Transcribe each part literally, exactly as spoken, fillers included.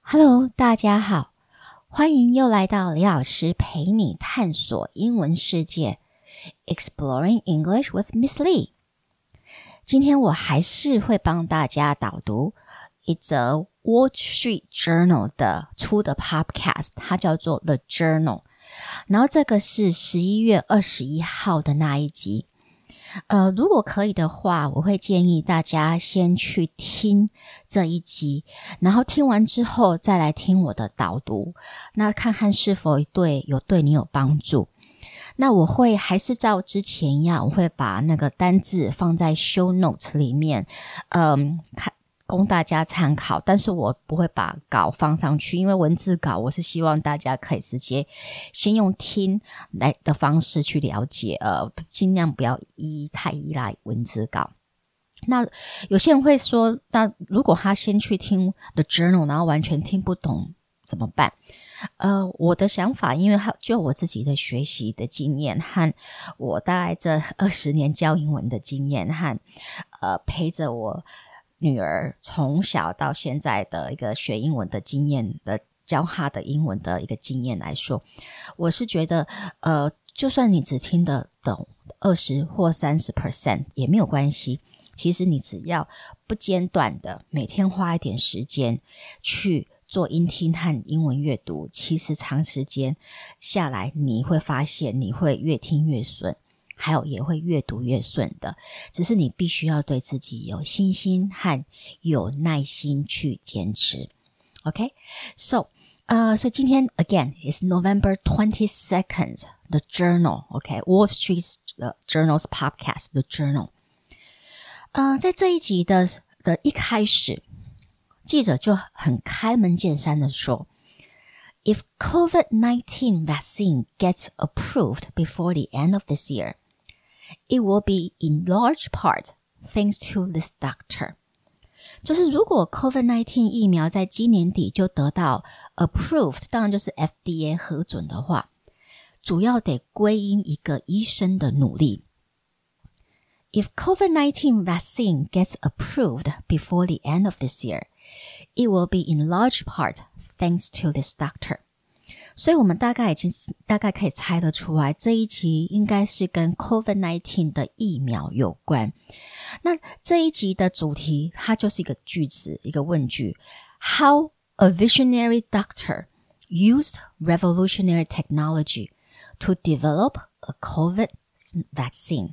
Hello， 大家好，歡迎又來到李老師陪你探索英文世界 Exploring English with Miss Lee。 今天我還是會幫大家導讀一則 Wall Street Journal 的出的 podcast， 它叫做 The Journal， 然後這個是十一月二十一號的那一集。呃，如果可以的話，我會建議大家先去聽這一集，然後聽完之後再來聽我的導讀，那看看是否對有對你有幫助。那我會還是照之前一樣，我會把那個單字放在 show notes 裡面，嗯，看供大家參考，但是我不會把稿放上去，因為文字稿我是希望大家可以直接先用聽來的方式去了解，呃，盡量不要依太依賴文字稿。那有些人會說，那如果他先去聽 The Journal， 然後完全聽不懂怎麼辦？呃，我的想法，因為就我自己的學習的經驗和我大概這二十年教英文的經驗和呃陪着我女兒從小到現在的一個學英文的經驗的教她的英文的一個經驗來說，我是覺得呃，就算你只聽得懂二十或三十 percent 也沒有關係。其實你只要不間斷的每天花一點時間去做音聽和英文閱讀，其實長時間下來你會發現你會越聽越順，還有也會越讀越順的，只是你必須要對自己有信心和有耐心去堅持。OK, so, 呃，所以今天 again is November twenty-second, The Journal, OK, Wall Street Journal's podcast, The Journal. 呃，在這一集的的一開始，記者就很開門見山的說，If COVID nineteen vaccine gets approved before the end of this year,It will be in large part thanks to this doctor. 就是如果 COVID nineteen 疫苗在今年底就得到 approved， 當然就是 F D A 核准的話，主要得歸因一個醫生的努力。If COVID nineteen vaccine gets approved before the end of this year, it will be in large part thanks to this doctor.所以我们大概已經大概可以猜得出來，這一集應該是跟 COVID nineteen 的疫苗有關。那這一集的主題，它就是一個句子，一個問句。How a visionary doctor used revolutionary technology to develop a COVID vaccine.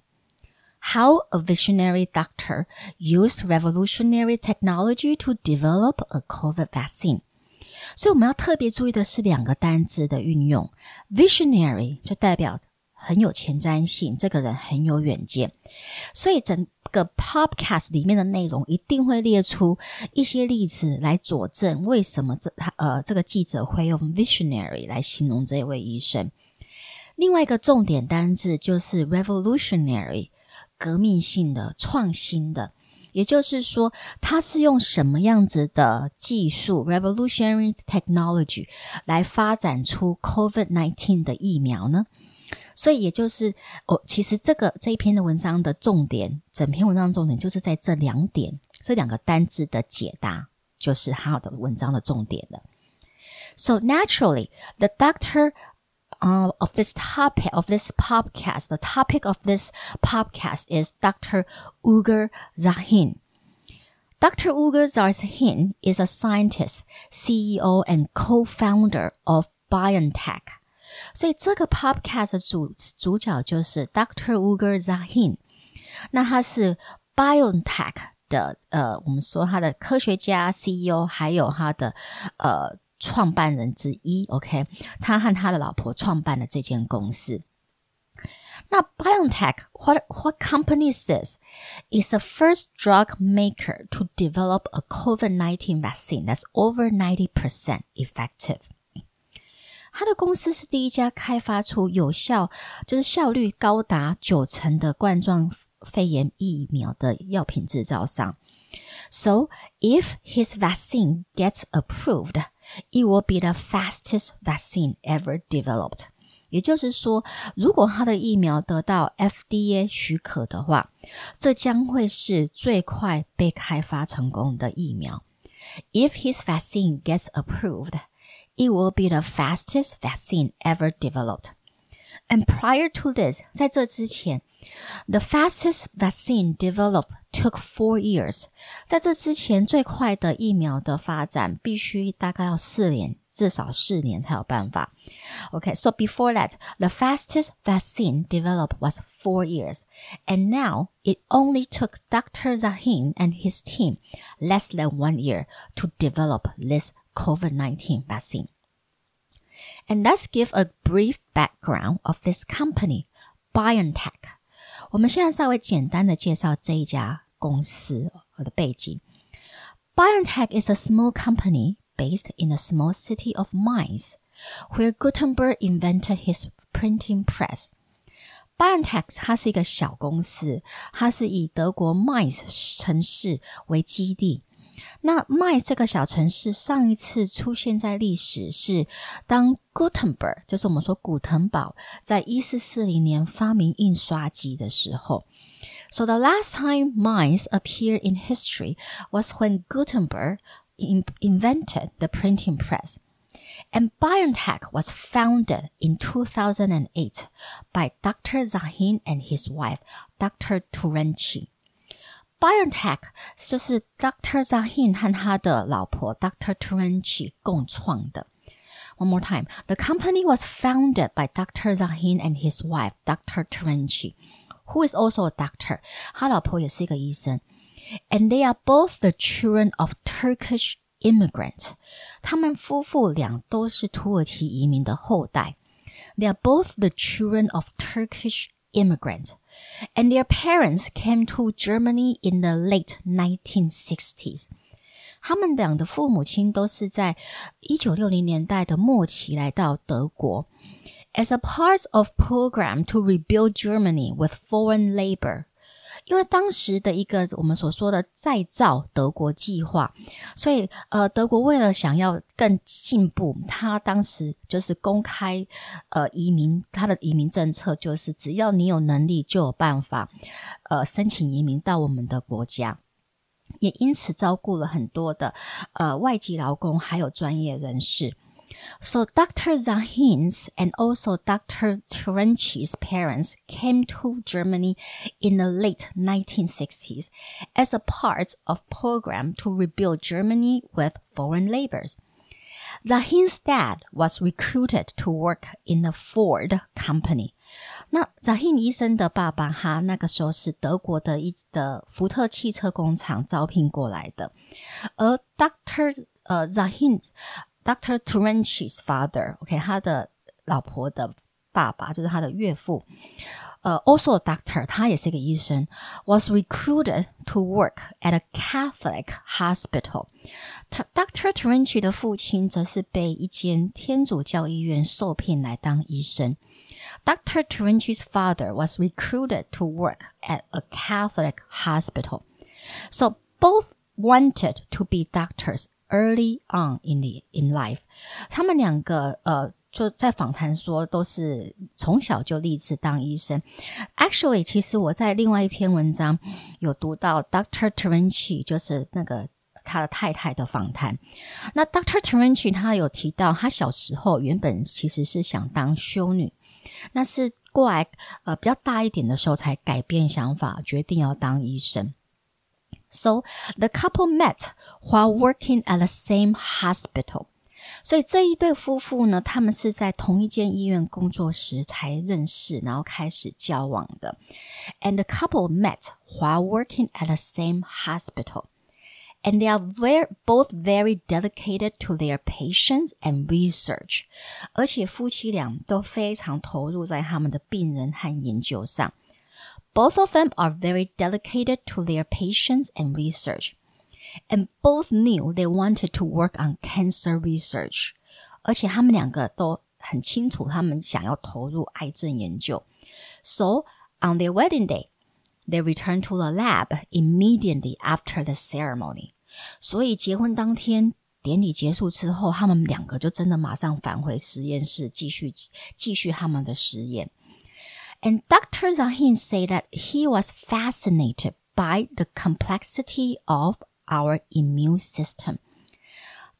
How a visionary doctor used revolutionary technology to develop a COVID vaccine.所以我們要特別注意的是兩個單字的運用。Visionary 就代表很有前瞻性，這個人很有遠見。所以整個 podcast 裡面的內容一定會列出一些例子來佐證為什麼這呃這個記者會用 visionary 來形容這位醫生。另外一個重點單字就是 revolutionary， 革命性的、創新的。也就是說，他是用什麼樣子的技術 revolutionary technology 來發展出 COVID nineteen 的疫苗呢？所以也就是哦，其實這個這一篇的文章的重點，整篇文章的重點就是在這兩點，這兩個單字的解答，就是他的文章的重點了。So naturally, the doctor Uh, of this topic, of this podcast, the topic of this podcast is Doctor Uğur Şahin. Doctor Uğur Şahin is a scientist, C E O and co-founder of BioNTech. 所以這個 podcast 的主主角就是 Doctor Uğur Şahin. 那他是 BioNTech 的呃，我們說他的科學家 C E O， 還有他的呃。創辦人之一 ，OK， 他和他的老婆創辦了這間公司。那 BioNTech, what what company is this? It's the first drug maker to develop a COVID nineteen vaccine that's over ninety percent effective. 他的公司是第一家開發出有效，就是效率高達九成的冠狀肺炎疫苗的藥品製造商。So, if his vaccine gets approved,It will be the fastest vaccine ever developed. 也就是說，如果他的疫苗得到 F D A 許可的話，這將會是最快被開發成功的疫苗。 If his vaccine gets approved, it will be the fastest vaccine ever developed. And prior to this, 在這之前 the fastest vaccine developed took four years. 在這之前，最快的疫苗的發展必須大概要四年，至少四年才有辦法。Okay, so before that, the fastest vaccine developed was four years. And now, it only took Doctor Zahin and his team less than one year to develop this COVID nineteen vaccine. And let's give a brief background of this company, BioNTech. 我們現在稍微簡單的介紹這一家公司的背景。BioNTech is a small company based in a small city of Mainz, where Gutenberg invented his printing press. BioNTech 它是一個小公司，它是以德國 Mainz 城市為基地。那 Mainz 這個小城市上一次出現在歷史是當 Gutenberg 就是我們說古騰堡在一四四零年發明印刷機的時候。So the last time Mainz appeared in history was when Gutenberg in- invented the printing press. And BioNTech was founded in two thousand eight by Doctor Zahin and his wife, Doctor Turanci.BioNTech 就是 Doctor Zahin 和他的老婆 Doctor Turanci 共創的。One more time. The company was founded by Doctor Zahin and his wife, Doctor Turanci, who is also a doctor. 他老婆也是一個醫生。And they are both the children of Turkish immigrants. 他們夫婦倆都是土耳其移民的後代。They are both the children of Turkish immigrants.And their parents came to Germany in the late nineteen sixties. 他們倆的父母親都是在一九六零年代的末期來到德國 as a part of program to rebuild Germany with foreign labor. 因為當時的一個我們所說的再造德國計劃，所以呃，德國為了想要更進步，他當時就是公開呃移民，他的移民政策就是只要你有能力就有辦法呃申請移民到我們的國家，也因此照顧了很多的呃外籍勞工還有專業人士。So Doctor Zahin's and also Doctor Turanchi's parents came to Germany in the late nineteen sixties as a part of program to rebuild Germany with foreign laborers. Zahin's dad was recruited to work in a Ford company. 那 Zahin 醫生的爸爸他那個時候是德國的一的福特汽車工廠招聘過來的，而 Doctor 呃 Zahin Doctor Turanchi's father, okay, 他的老婆的爸爸就是他的岳父，呃、uh, also a doctor, 他也是一個醫生 was recruited to work at a Catholic hospital. Doctor Turanchi 的父親則是被一間天主教醫院受聘來當醫生。Doctor Turanchi's father was recruited to work at a Catholic hospital. So both wanted to be doctors.Early on in the in life, 他們兩個呃就在訪談說都是從小就立志當醫生。Actually, 其實我在另外一篇文章有讀到 Doctor Turanci 就是那個他的太太的訪談。那 Doctor Turanci 他有提到他小時候原本其實是想當修女，那是過來呃比較大一點的時候才改變想法，決定要當醫生。So, the couple met while working at the same hospital. 所以這一對夫婦呢，他們是在同一間醫院工作時才認識，然後開始交往的。And the couple met while working at the same hospital. And they are very, both very dedicated to their patients and research. 而且夫妻倆都非常投入在他們的病人和研究上。Both of them are very dedicated to their patients and research. And both knew they wanted to work on cancer research. 而且他们兩個都很清楚他們想要投入癌症研究。So, on their wedding day, they returned to the lab immediately after the ceremony. 所以結婚當天，典禮結束之後，他們兩個就真的馬上返回實驗室，繼續繼續他們的實驗。And Doctor Zahin said that he was fascinated by the complexity of our immune system.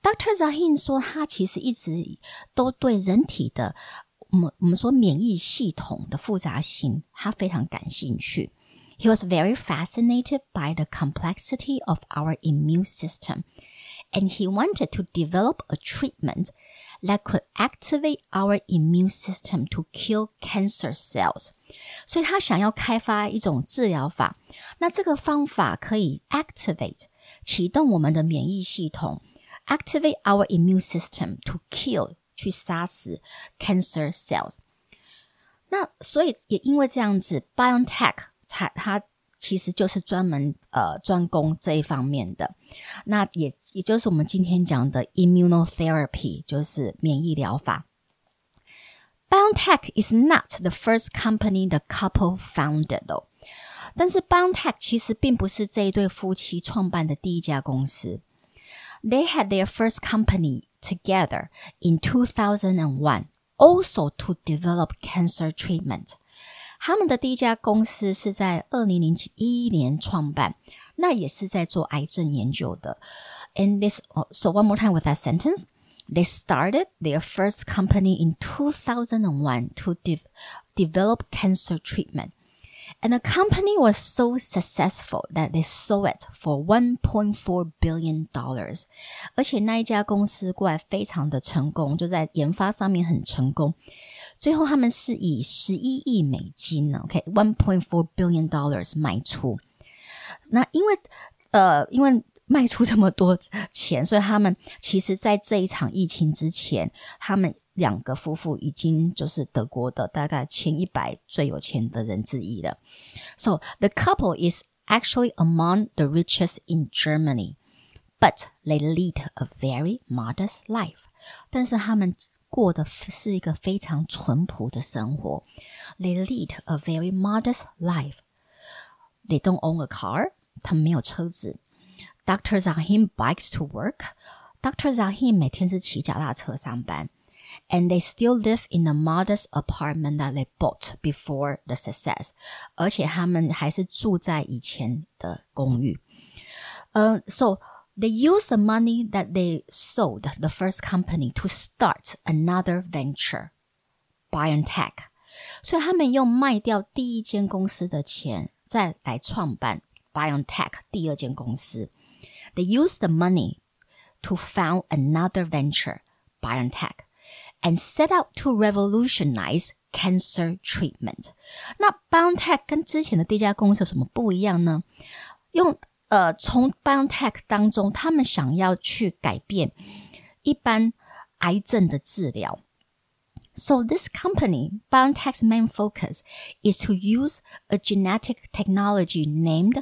Doctor Zahim 說，他其實一直都對人體的我們我們說免疫系統的複雜性，他非常感興趣。He was very fascinated by the complexity of our immune system, and he wanted to develop a treatment that could activate our immune system to kill cancer cells. 所以他想要開發一種治療法，那這個方法可以 activate 啟動我們的免疫系統 activate our immune system to kill 去殺死 cancer cells. 那所以也因為這樣子 BioNTech 它它其實就是專門呃專攻這一方面的，那也也就是我們今天講的 immunotherapy， 就是免疫療法。BioNTech is not the first company the couple founded though， 但是 BioNTech 其實並不是這一對夫妻創辦的第一家公司。They had their first company together in two thousand one, also to develop cancer treatment. 他們的第一家公司是在二零零一年創辦，那也是在做癌症研究的。And this, so one more time with that sentence. They started their first company in two thousand one to de- develop cancer treatment. And the company was so successful that they sold it for one point four billion dollars. 而且那一家公司過來非常的成功，就在研發上面很成功。最後他們是以十一億美金 OK, one point four billion dollars 賣出。那因為呃，因為賣出這麼多錢，所以他們其實在這一場疫情之前，他們兩個夫婦已經就是德國的大概前一百最有錢的人之一了。So the couple is actually among the richest in Germany, but they lead a very modest life. 但是他們過的是一個非常淳樸的生活。They lead a very modest life. They don't own a car. 他們沒有車子。Doctor Zahim bikes to work. Doctor Zahim 每天是騎腳踏車上班。And they still live in a modest apartment that they bought before the success. 而且他們還是住在以前的公寓。Uh, so they use the money that they sold the first company to start another venture, BioNTech. 所以他們用賣掉第一間公司的錢，再來創辦 BioNTech 第二間公司。They use the money to found another venture, BioNTech, and set out to revolutionize cancer treatment. 那 BioNTech 跟之前的第一家公司有什麼不一樣呢？用呃，從 BioNTech 當中，他們想要去改變一般癌症的治療。So this company, BioNTech's main focus is to use a genetic technology named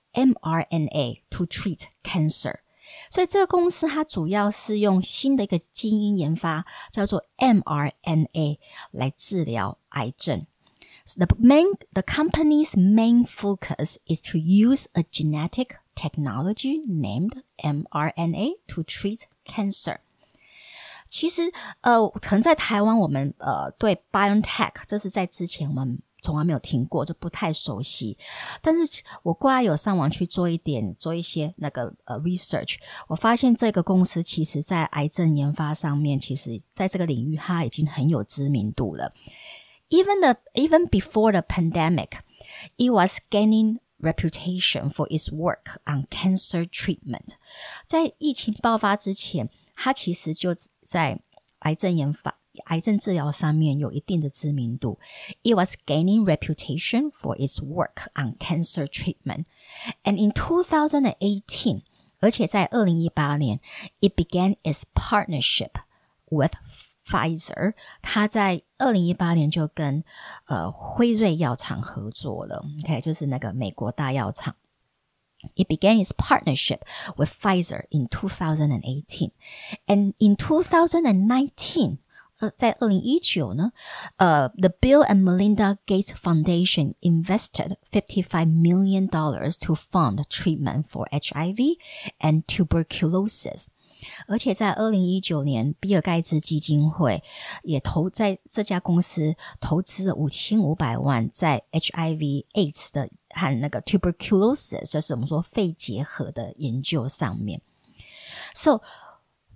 mRNA to treat cancer. 所以這個公司它主要是用新的一個基因研發，叫做 mRNA 來治療癌症。So the main, the company's main focus is to use a genetic technology named mRNA to treat cancer. 其實，呃，可能在台灣我們呃對 BioNTech 這是在之前我們從來沒有聽過，就不太熟悉。但是我過來有上網去做一點，做一些那個呃 research， 我發現這個公司其實在癌症研發上面，其實在這個領域它已經很有知名度了。Even the even before the pandemic, it was gaining reputation for its work on cancer treatment. 在疫情爆發之前，它其實就在癌症研發、癌症治療上面有一定的知名度。It was gaining reputation for its work on cancer treatment. And in two thousand eighteen, 而且在二零一八年 it began its partnership with Pfizer. 它在二零一八年就跟呃輝瑞藥廠合作了 ，OK， 就是那個美國大藥廠。It began its partnership with Pfizer in two thousand eighteen. And in two thousand nineteen, 呃，在二零一九呢，呃 the Bill and Melinda Gates Foundation invested fifty-five million dollars to fund treatment for H I V and tuberculosis. 而且在二零一九年，比爾蓋茨基金會也投在這家公司投資了五千五百萬在 H I V、AIDS 的和那個 tuberculosis， 就是我們說肺結核的研究上面。So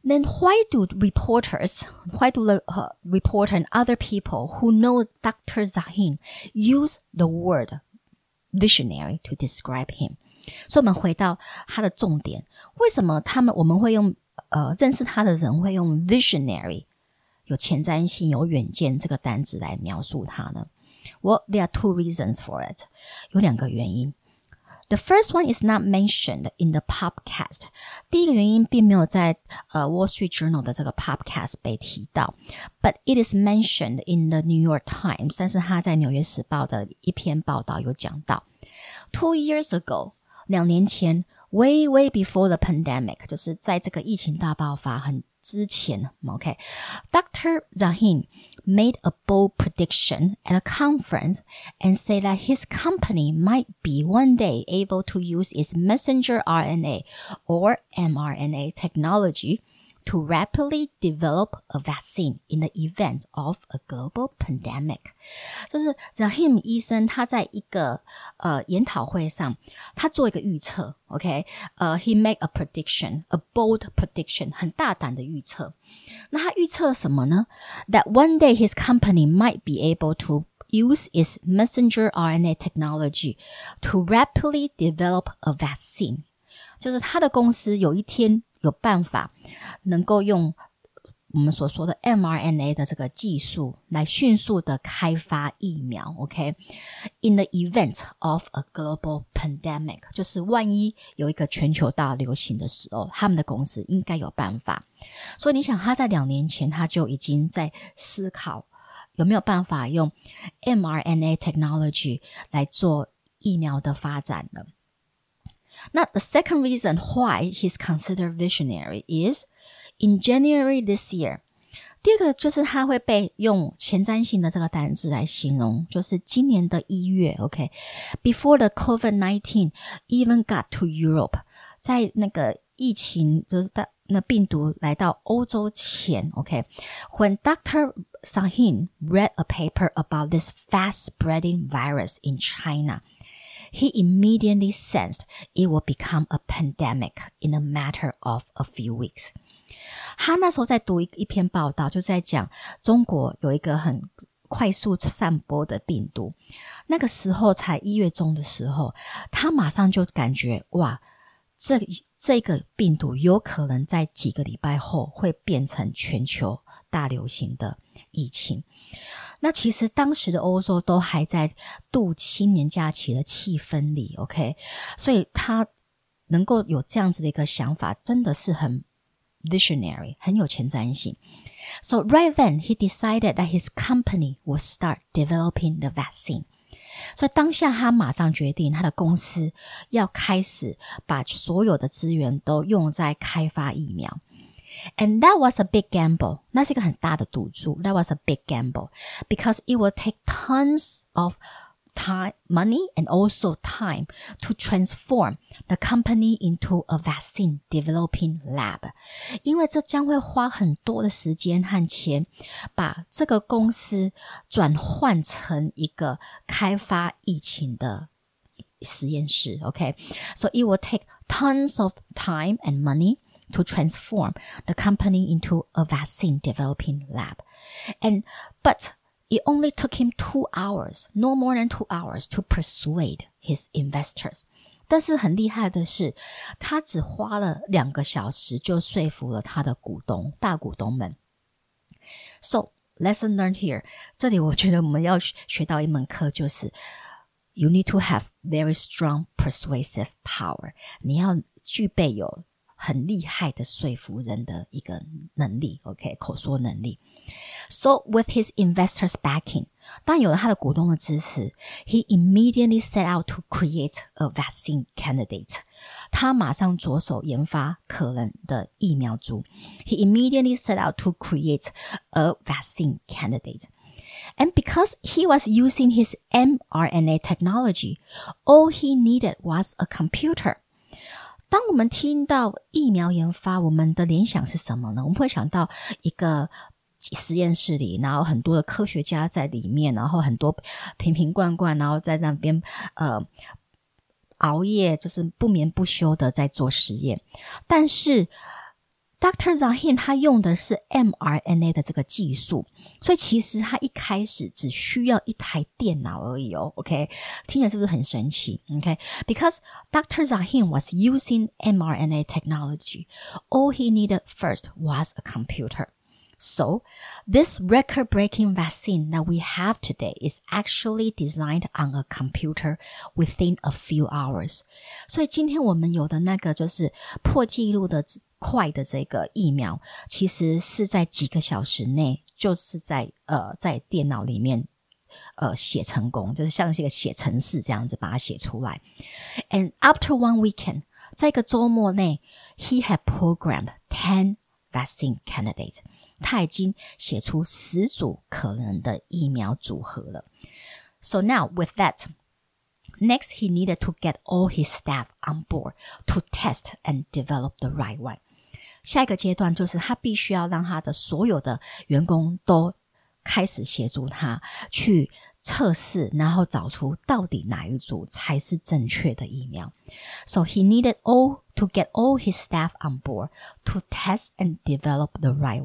Then why do reporters, why do the uh, reporter and other people who know Doctor Zahin use the word visionary to describe him? 所以我們回到他的重點，為什麼他們我們會用呃認識他的人會用 visionary 有前瞻性、有遠見這個單字來描述他呢？ Well, there are two reasons for it. 有兩個原因。The first one is not mentioned in the podcast. 第一個原因並沒有在呃 Wall Street Journal 的這個 podcast 被提到 ，but it is mentioned in the New York Times. 但是他在紐約時報的一篇報道有講到 ，Two years ago. 兩年前 way, way before the pandemic, 就是在這個疫情大爆發很之前 okay, Doctor Zahin made a bold prediction at a conference and said that his company might be one day able to use its messenger R N A or mRNA technology to rapidly develop a vaccine in the event of a global pandemic. 就是 Zahin 醫生他在一個呃研討會上，他做一個預測 ，OK， 呃、uh, he made a prediction, a bold prediction, 很大膽的預測。那他預測什麼呢？ That one day his company might be able to use its messenger R N A technology to rapidly develop a vaccine. 就是他的公司有一天有辦法能夠用我們所說的 mRNA 的這個技術來迅速的開發疫苗 OK In the event of a global pandemic 就是萬一有一個全球大流行的時候，他們的公司應該有辦法。所以你想他在兩年前他就已經在思考有沒有辦法用 mRNA technology 來做疫苗的發展了。Now, the second reason why he's considered visionary is in January this year. 第二個就是他會被用前瞻性的這個單字來形容，就是今年的一月 OK Before the COVID nineteen even got to Europe. 在那個疫情就是那病毒來到歐洲前 OK When Doctor Zahin read a paper about this fast-spreading virus in China,He immediately sensed it would become a pandemic in a matter of a few weeks. 他那時候在讀一, 一篇報道，就在講中國有一個很快速散播的病毒。那個時候才一月中的時候，他馬上就感覺哇，這這個病毒有可能在幾個禮拜後會變成全球大流行的疫情。那其實當時的歐洲都還在度青年假期的氣氛裡 OK 所以他能夠有這樣子的一個想法真的是很 visionary 很有前瞻性 So right then he decided that his company would start developing the vaccine 所以當下他馬上決定他的公司要開始把所有的資源都用在開發疫苗And that was a big gamble. 那是一個很大的賭注。That was a big gamble because it will take tons of time, money, and also time to transform the company into a vaccine developing lab. 因為這將會花很多的時間和錢，把這個公司轉換成一個開發疫情的實驗室。Okay, so it will take tons of time and money.To transform the company into a vaccine developing lab. And, but it only took him two hours, no more than two hours to persuade his investors. 但是很厲害的是，他只花了兩個小時就說服了他的股東，大股東們。So, lesson learned here. 這裡我覺得我們要學到一門課就是 You need to have very strong persuasive power. 你要具備有很厲害的說服人的一個能力 OK 口說能力 So with his investors backing 當有了他的股東的支持 He immediately set out to create a vaccine candidate 他馬上着手研發可能的疫苗株 He immediately set out to create a vaccine candidate And because he was using his mRNA technology all he needed was a computer當我們聽到疫苗研發，我們的聯想是什麼呢？我們會想到一個實驗室裡，然後很多的科學家在裡面，然後很多瓶瓶罐罐，然後在那邊呃熬夜，就是不眠不休的在做實驗。但是 Doctor Zahim 他用的是 mRNA 的這個技術，所以其實他一開始只需要一台電腦而已哦 ，OK， 聽起來是不是很神奇 ？OK， because Doctor Zahim was using mRNA technology, all he needed first was a computer. So, this record-breaking vaccine that we have today is actually designed on a computer within a few hours. 所以今天我們有的那個就是破紀錄的快的這個疫苗，其實是在幾個小時內，就是在呃在電腦裡面呃寫成功，就是像是一個寫程式這樣子把它寫出來。And after one weekend, 在一個週末內 he had programmed ten vaccine candidates. 他已經寫出十組可能的疫苗組合了。So now with that, next he needed to get all his staff on board to test and develop the right one. 下一個階段就是他必須要讓他的所有的員工都開始協助他去測試，然後找出到底哪一組才是正確的疫苗。So he needed all to get all his staff on board to test and develop the right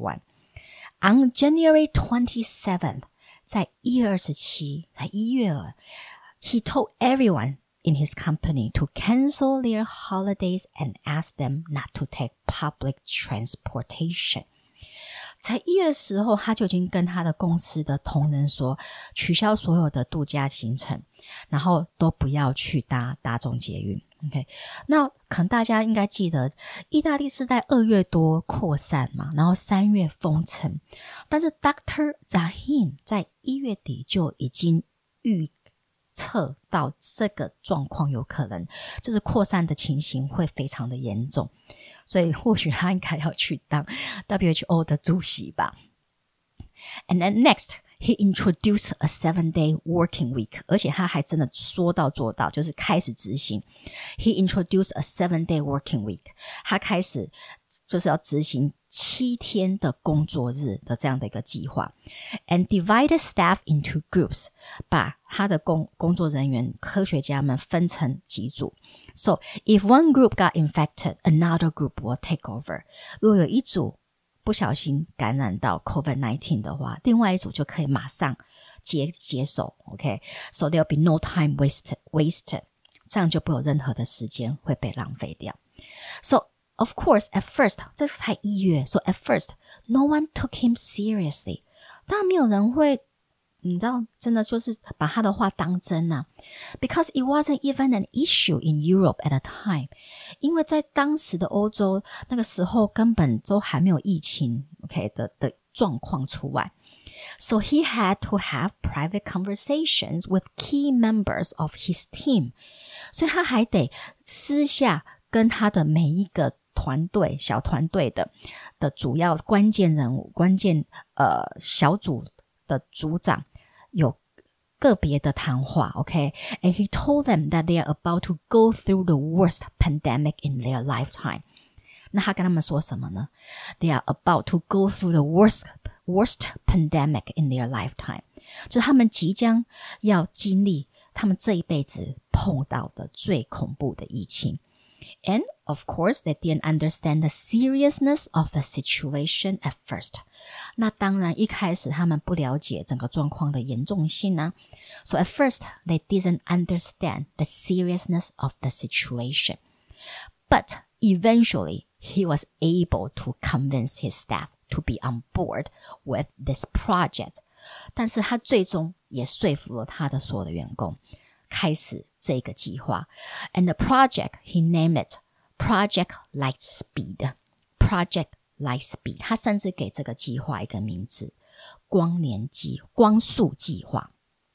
one.On January twenty-seventh, 在一月二十七，在一月了 he told everyone in his company to cancel their holidays and ask them not to take public transportation. 在一月的時候，他就已經跟他的公司的同仁說，取消所有的度假行程，然後都不要去搭大眾捷運。OK， 那可能大家應該記得，意大利是在二月多擴散嘛，然後三月封城，但是 Doctor Zahim 在一月底就已經預測到這個狀況有可能，就是擴散的情形會非常的嚴重，所以或許他應該要去當 W H O 的主席吧。And then next,He introduced a seven-day working week. 而且他還真的說到做到，就是開始執行。He introduced a seven-day working week. 他開始就是要執行七天的工作日的這樣的一個計劃。And divided staff into groups. 把他的工工作人員、科學家們分成幾組。So, if one group got infected, another group will take over. 如果有一組不小心感染到 COVID nineteen 的話，另外一組就可以馬上接接手 OK， so there'll be no time wasted wasted 這樣就不有任何的時間會被浪費掉。 So of course at first 這才一月 so at first no one took him seriously， 當然沒有人會你知道真的就是把他的話當真啊 because it wasn't even an issue in Europe at a time， 因為在當時的歐洲那個時候根本都還沒有疫情 OK 的的狀況出來。 So he had to have private conversations with key members of his team， 所以他還得私下跟他的每一個團隊小團隊的的主要關鍵人物關鍵呃小組的組長有個別的談話 OK and he told them that they are about to go through the worst pandemic in their lifetime。 那他跟他們說什麼呢？ They are about to go through the worst worst pandemic in their lifetime， 就是他們即將要經歷他們這一輩子碰到的最恐怖的疫情。And of course, they didn't understand the seriousness of the situation at first. 那當然一開始他們不了解整個狀況的嚴重性啊。So at first, they didn't understand the seriousness of the situation. But eventually, he was able to convince his staff to be on board with this project. 但是他最終也說服了他的所有的員工開始這個計劃 and the project he named it Project Lightspeed Project Lightspeed 他甚至給這個計劃一個名字光年計光速計劃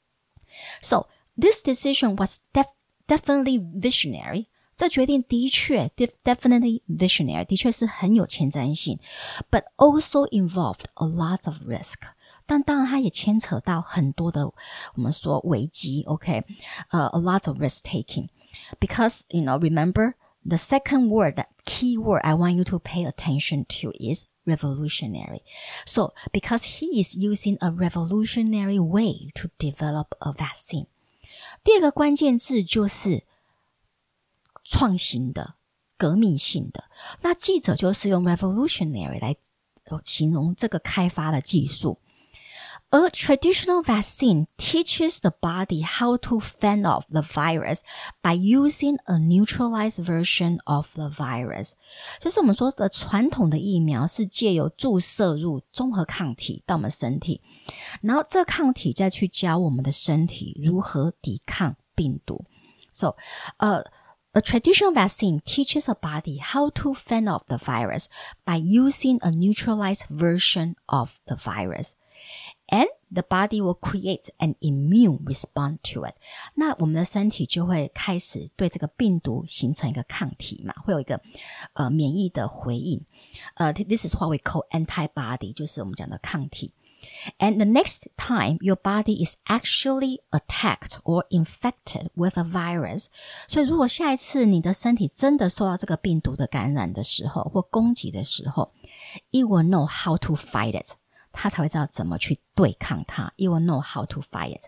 So this decision was def- definitely visionary 這決定的確 definitely visionary 的確是很有前瞻性 but also involved a lot of risk但當然它也牽扯到很多的我們說危機 OK、uh, a lot of risk taking because you know remember the second word that key word I want you to pay attention to is revolutionary so because he is using a revolutionary way to develop a vaccine 第二個關鍵字就是創新的革命性的。那記者就是用 revolutionary 來形容這個開發的技術。A traditional vaccine teaches the body how to fend off the virus by using a neutralized version of the virus. 就是我們說的傳統的疫苗是借由注射入綜合抗體到我們身體，然後這抗體再去教我們的身體如何抵抗病毒。So, uh, a traditional vaccine teaches a body how to fend off the virus by using a neutralized version of the virus.And the body will create an immune response to it. 那我們的身體就會開始對這個病毒形成一個抗體嘛，會有一個呃免疫的回應。呃、uh, This is what we call antibody, 就是我們講的抗體。And the next time your body is actually attacked or infected with a virus. 所以如果下一次你的身體真的受到這個病毒的感染的時候，或攻擊的時候， it will know how to fight it.他才會知道怎麼去對抗它。You will know how to fight it.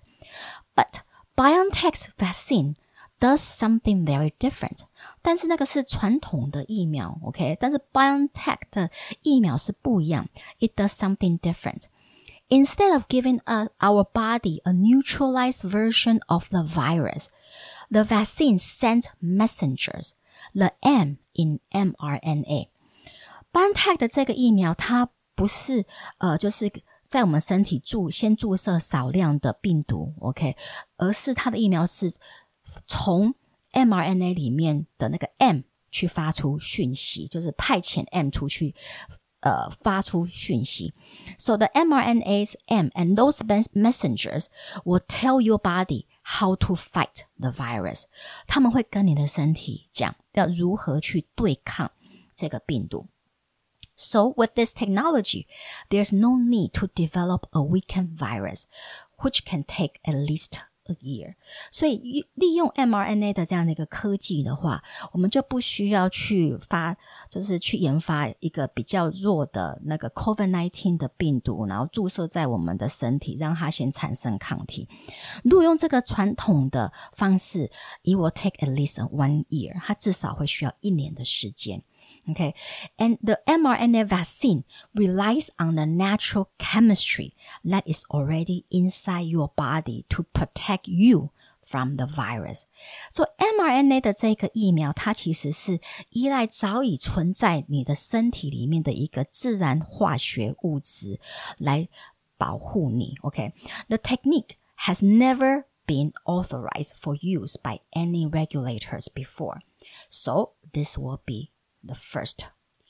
But BioNTech's vaccine does something very different. 但是那個是傳統的疫苗 ，OK？ 但是 BioNTech 的疫苗是不一樣。It does something different. Instead of giving us, our body a neutralized version of the virus, the vaccine sends messengers, the M in mRNA. BioNTech 的這個疫苗，它不是呃，就是在我們身體注先注射少量的病毒 ，OK， 而是它的疫苗是從 mRNA 裡面的那個 M 去發出訊息，就是派遣 M 出去，呃，發出訊息。So the mRNA's M and those messengers will tell your body how to fight the virus. 他們會跟你的身體講要如何去對抗這個病毒。So with this technology, there's no need to develop a weakened virus, which can take at least a year. 所以利用 mRNA 的這樣的一個科技的話，我們就不需要去發，就是去研發一個比較弱的那個 COVID 十九 的病毒，然後注射在我們的身體，讓它先產生抗體。如果用這個傳統的方式 ，it will take at least one year. 它至少會需要一年的時間。Okay, and the mRNA vaccine relies on the natural chemistry that is already inside your body to protect you from the virus. So mRNA 的這個疫苗，它其實是依賴早已存在你的身體裡面的一個自然化學物質來保護你。Okay, the technique has never been authorized for use by any regulators before. So this will be the first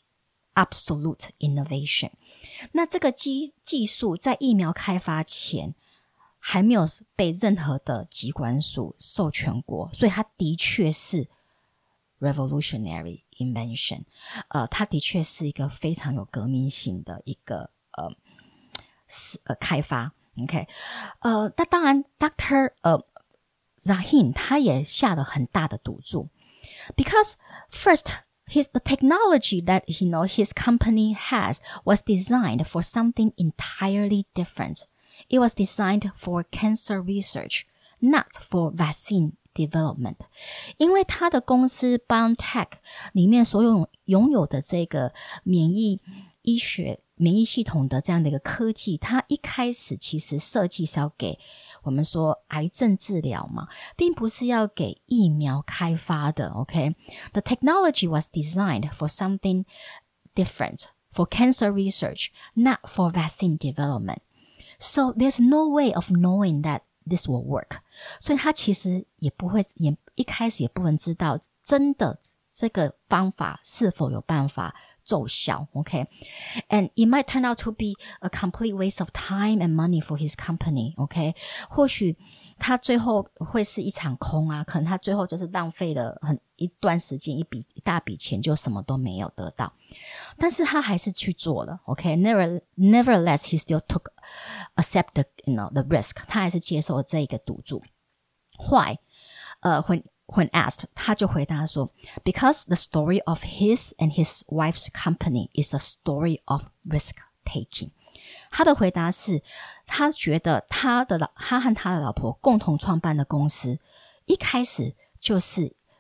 absolute innovation. 那這個技技術在疫苗開發前還沒有被任何的疾管署授權過，所以它的確是 revolutionary invention. 呃，它的確是一個非常有革命性的一個呃呃開發。OK， 呃，那當然 ，Doctor 呃 Zahin 他也下了很大的賭注 ，because first.His, the technology that you know, his company has was designed for something entirely different. It was designed for cancer research, not for vaccine development. 因為他的公司 BioNTech 裡面所有擁有的這個免疫醫學、免疫系統的這樣的一個科技，它一開始其實設計是要給我們說癌症治療嘛，並不是要給疫苗開發的 OK The technology was designed for something different, for cancer research, not for vaccine development. So there's no way of knowing that this will work. 所以他其實也不會，也一開始也不能知道真的這個方法是否有辦法奏效 OK And it might turn out to be a complete waste of time and money for his company OK 或許他最後會是一場空啊，可能他最後就是浪費了很一段時間，一筆一大筆錢，就什麼都沒有得到，但是他還是去做了 OK Never, Nevertheless he still took accept the, you know, the risk 他還是接受了這個賭注 Why? 呃、uh, when When asked, 他就回答說 Because the story of his and his wife's company is a story of risk-taking. 他的回答是，他覺得他的他和他的老婆共同創辦的公司，一開始就是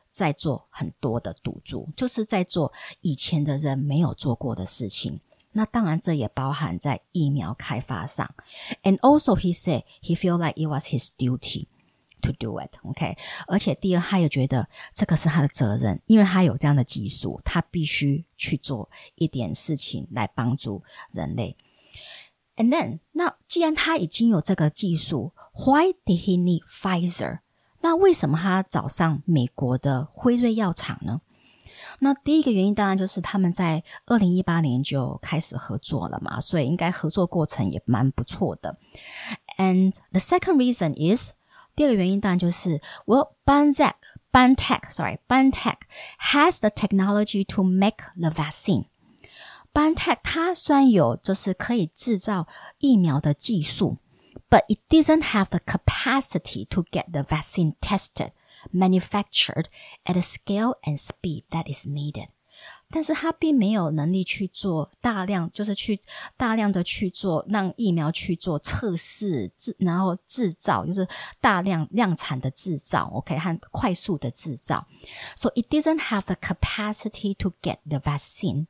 在做很多的賭注，就是在做以前的人沒有做過的事情。那當然這也包含在疫苗開發上。And also he said he feel like it was his duty to do it, okay? 而且第二，他也覺得這個是他的責任，因為他有這樣的技術，他必須去做一點事情來幫助人類。And then, 那既然他已經有這個技術 ，Why did he need Pfizer？ 那為什麼他找上美國的輝瑞藥廠呢？那第一個原因當然就是他們在二零一八年就開始合作了嘛，所以應該合作過程也蠻不錯的。And the second reason is， 第二個原因當然就是 Well, BioNTech, BioNTech, sorry, BioNTech has the technology to make the vaccine. BioNTech 它雖然有就是可以製造疫苗的技術 ，but it doesn't have the capacity to get the vaccine tested.Manufactured at a scale and speed that is needed. 但是它並沒有能力去做大量，就是去大量的去做，讓疫苗去做測試，然後製造，就是大量量產的製造 ，OK， 和快速的製造。So it doesn't have the capacity to get the vaccine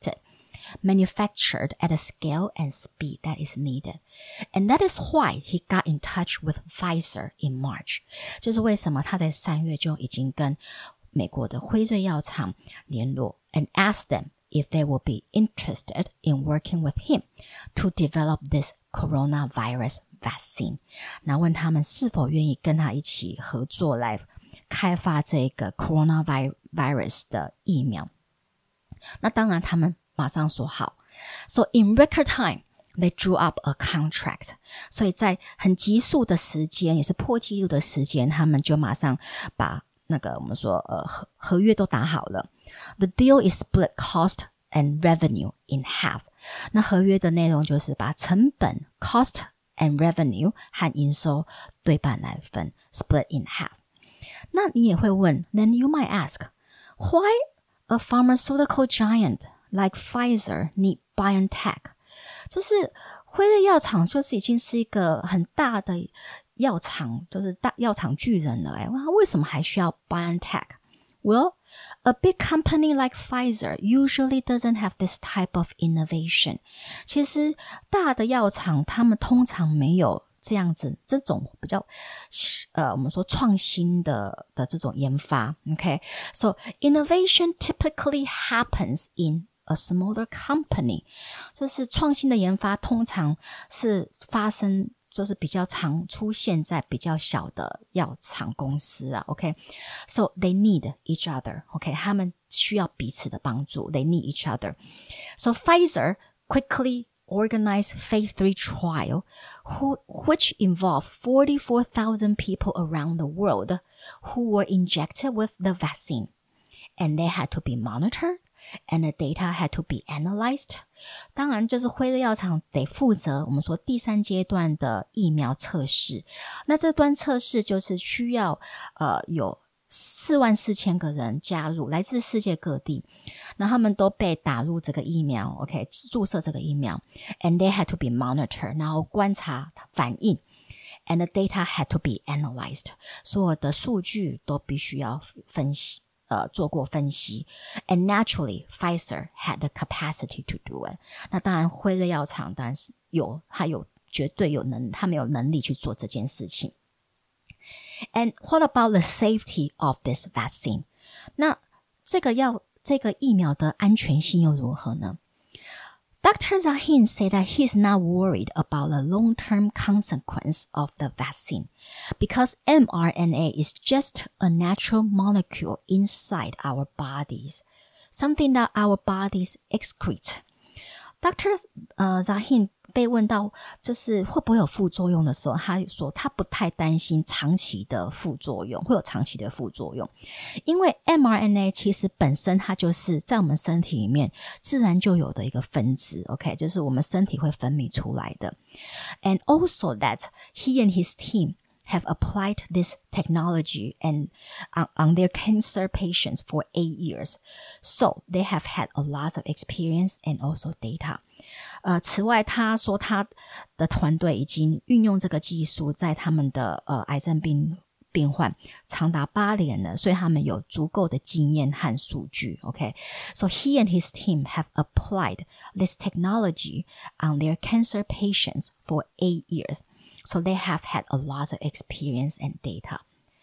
tested.Manufactured at a scale and speed that is needed. And that is why he got in touch with Pfizer in March. 就是為什麼他在三月就已經跟美國的輝瑞藥廠聯絡 and asked them if they would be interested in working with him to develop this coronavirus vaccine. 然後問他們是否願意跟他一起合作來開發這個 coronavirus 的疫苗。那當然他們馬上說好 So in record time, they drew up a contract. 所以在很急速的時間，也是破紀錄的時間，他們就馬上把那個我們說呃合合約都打好了。The deal is split cost and revenue in half. 那合約的內容就是把成本 cost and revenue 和營收對半來分 split in half. 那你也會問 Then you might ask, why a pharmaceutical giant?Like Pfizer need BioNTech， 就是輝瑞藥廠就是已經是一個很大的藥廠，就是大藥廠巨人了。哎，為什麼還需要 BioNTech？ Well, a big company like Pfizer usually doesn't have this type of innovation. 其實大的藥廠他們通常沒有這樣子這種比較呃我們說創新的的這種研發。Okay, so innovation typically happens in a smaller company. 就是創新的研發通常是發生就是比較常出現在比較小的藥廠公司啊 OK So they need each other OK 他們需要彼此的幫助 They need each other So Pfizer quickly organized phase three trial who, which involved forty-four thousand people around the world who were injected with the vaccine and they had to be monitored.And the data had to be analyzed. 當然就是輝瑞藥廠得負責我們說第三階段的疫苗測試。那這段測試就是需要呃有四萬四千個人加入，來自世界各地。那他們都被打入這個疫苗 ，OK， 注射這個疫苗。And they had to be monitored， 然後觀察反應。And the data had to be analyzed. 所有的數據都必須要分析。呃，做過分析 ，and naturally, Pfizer had the capacity to do it. 那當然，輝瑞藥廠當然是有，它有絕對有能，他們有能力去做這件事情。And what about the safety of this vaccine? 那這個藥，這個疫苗的安全性又如何呢？Doctor Zahin said that he's not worried about the long-term consequence of the vaccine because mRNA is just a natural molecule inside our bodies, something that our bodies excrete. Doctor 呃 Zahin 被問到就是會不會有副作用的時候，他說他不太擔心長期的副作用，會有長期的副作用，因為 mRNA 其實本身它就是在我們身體裡面自然就有的一個分子 ，OK， 就是我們身體會分泌出來的。And also that he and his team have applied this technology and on, on their cancer patients for eight years. So they have had a lot of experience and also data. 呃，此外，他說他的團隊已經運用這個技術在他們的呃癌症病病患長達八年了，所以他們有足夠的經驗和數據。Okay, so he and his team have applied this technology on their cancer patients for eight years. So they have had a lot of experience and data.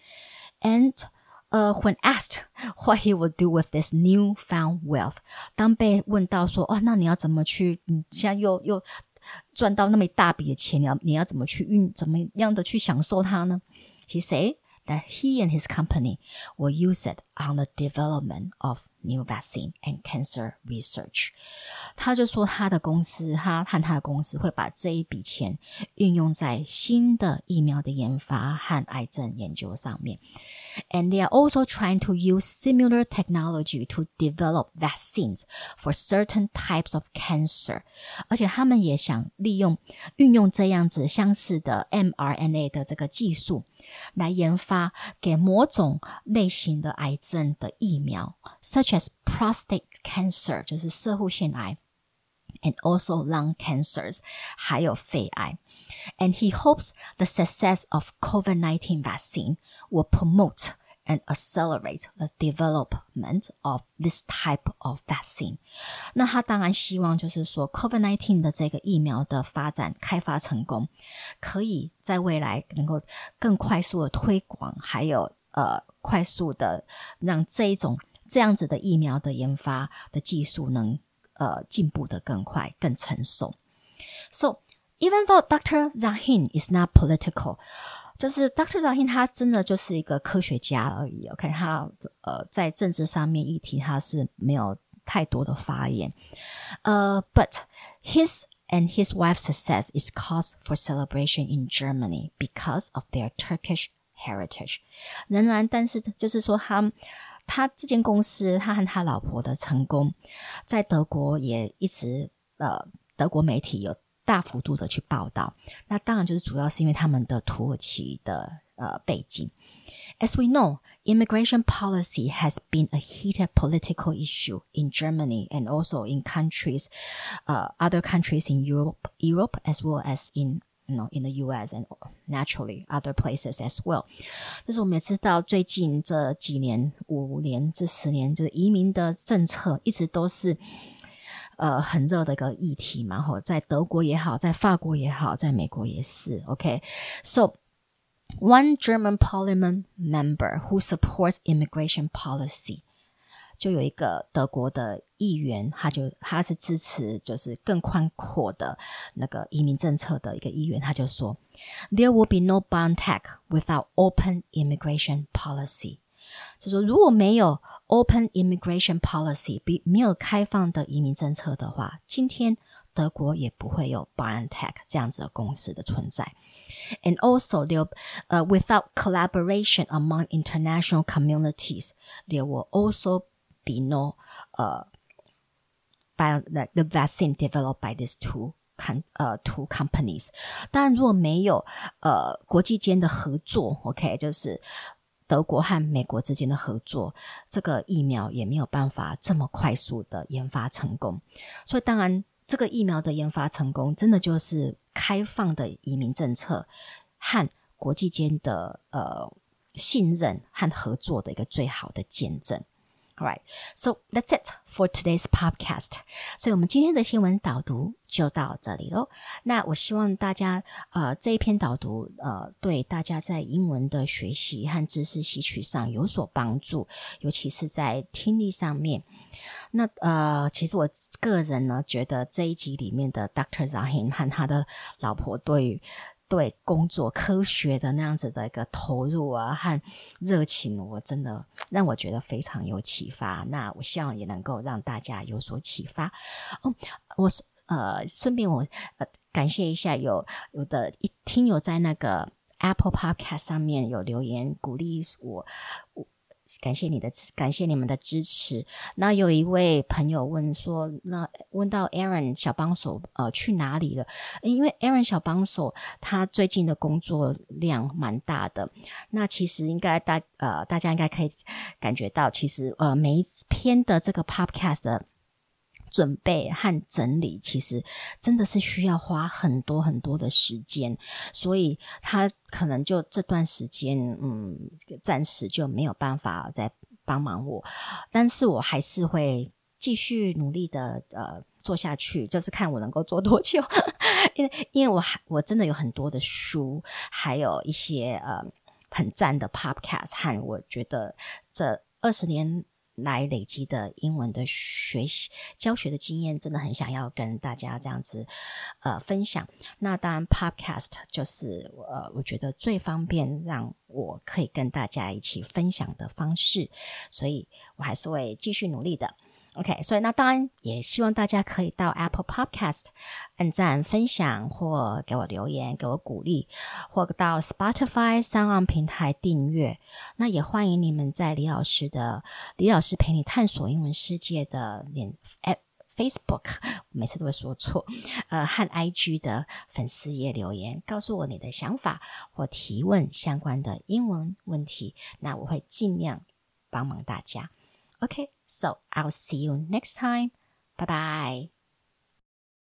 And uh, when asked what he would do with this newfound wealth, 當被問到說，哦，那你要怎麼去？你現在又又賺到那麼一大筆的錢，你要你要怎麼去運？怎麼樣的去享受它呢？ He said that he and his company will use it on the development of new vaccine and cancer research. 他就說他的公司，他和他的公司會把這一筆錢運用在新的疫苗的研發和癌症研究上面。And they are also trying to use similar technology to develop vaccines for certain types of cancer. 而且他們也想利用運用這樣子相似的 mRNA 的這個技術來研發給某種類型的癌症的疫苗 such as prostate cancer 就是攝護腺癌 and also lung cancers 還有肺癌 and he hopes the success of COVID nineteen vaccine will promote and accelerate the development of this type of vaccine. 那他當然希望就是說 COVID nineteen 的這個疫苗的發展開發成功，可以在未來能夠更快速的推廣，還有呃快速的讓這一種這樣子的疫苗的研發的技術能呃進步得更快更成熟。So even though Doctor Zahhin is not political, 就是 Doctor Zahhin 他真的就是一個科學家而已 OK 他呃在政治上面議題他是沒有太多的發言呃、uh, But his and his wife's success is cause for celebration in Germany because of their Turkish heritage. 仍然但是就是說他他這間公司他和他老婆的成功在德國也一直呃德國媒體有大幅度的去報道，那當然就是主要是因為他們的土耳其的呃背景。As we know, immigration policy has been a heated political issue in Germany and also in countries, uh, other countries in Europe, Europe as well as in, you know, in the U S and naturally other places as well. 但是我们也知道，最近這幾年、五年至十年，就是移民的政策一直都是。呃，很熱的一個議題嘛，吼，在德國也好，在法國也好，在美國也是 OK. So, one German parliament member who supports immigration policy 就有一個德國的議員，他就他是支持就是更寬闊的那個移民政策的一個議員，他就說 There will be no BioNTech without open immigration policy. 就是說如果沒有 open immigration policy 沒有開放的移民政策的話，今天德國也不會有 BioNTech 這樣子的公司的存在。And also, there, uh, without collaboration among international communities, there will also be no uh, bio, like the vaccine developed by these two, uh, two companies. 當然如果沒有呃國際間的合作 OK 就是德國和美國之間的合作，這個疫苗也沒有辦法這麼快速的研發成功。所以當然這個疫苗的研發成功真的就是開放的移民政策和國際間的呃信任和合作的一個最好的見證。Alright, so that's it for today's podcast. 所以我們今天的新聞導讀就到這裡咯。那我希望大家呃這一篇導讀呃對大家在英文的學習和知識吸取上有所幫助，尤其是在聽力上面。那呃其實我個人呢覺得這一集裡面的 Doctor Zahhin 和他的老婆對於對工作科學的那樣子的一個投入啊和熱情，我真的讓我覺得非常有啟發。那我希望也能夠讓大家有所啟發。哦，我呃順便我呃感謝一下有有的一聽友在那個 Apple Podcast 上面有留言鼓勵我。我感謝你的，感謝你們的支持。那有一位朋友問說，那問到 Aaron 小幫手呃去哪裡了？因為 Aaron 小幫手他最近的工作量蠻大的。那其實應該大呃大家應該可以感覺到，其實呃每一篇的這個 podcast 的準備和整理，其實真的是需要花很多很多的時間，所以他可能就這段時間，嗯，暫時就沒有辦法再幫忙我，但是我還是會繼續努力的，呃，做下去，就是看我能夠做多久。因為，因為我還我真的有很多的書，還有一些呃很讚的 podcast， 和我覺得這二十年來累積的英文的學習教學的經驗，真的很想要跟大家這樣子呃分享。那當然 podcast 就是呃我覺得最方便讓我可以跟大家一起分享的方式，所以我還是會繼續努力的。OK， 所以那當然也希望大家可以到 Apple Podcast 按讚、分享或給我留言，給我鼓勵，或到 Spotify、SoundOn 平台訂閱。那也歡迎你們在李老師的李老師陪你探索英文世界的臉 Facebook， 每次都會說錯，呃和 I G 的粉絲頁留言，告訴我你的想法或提問相關的英文問題，那我會盡量幫忙大家。Okay, so I'll see you next time. Bye bye.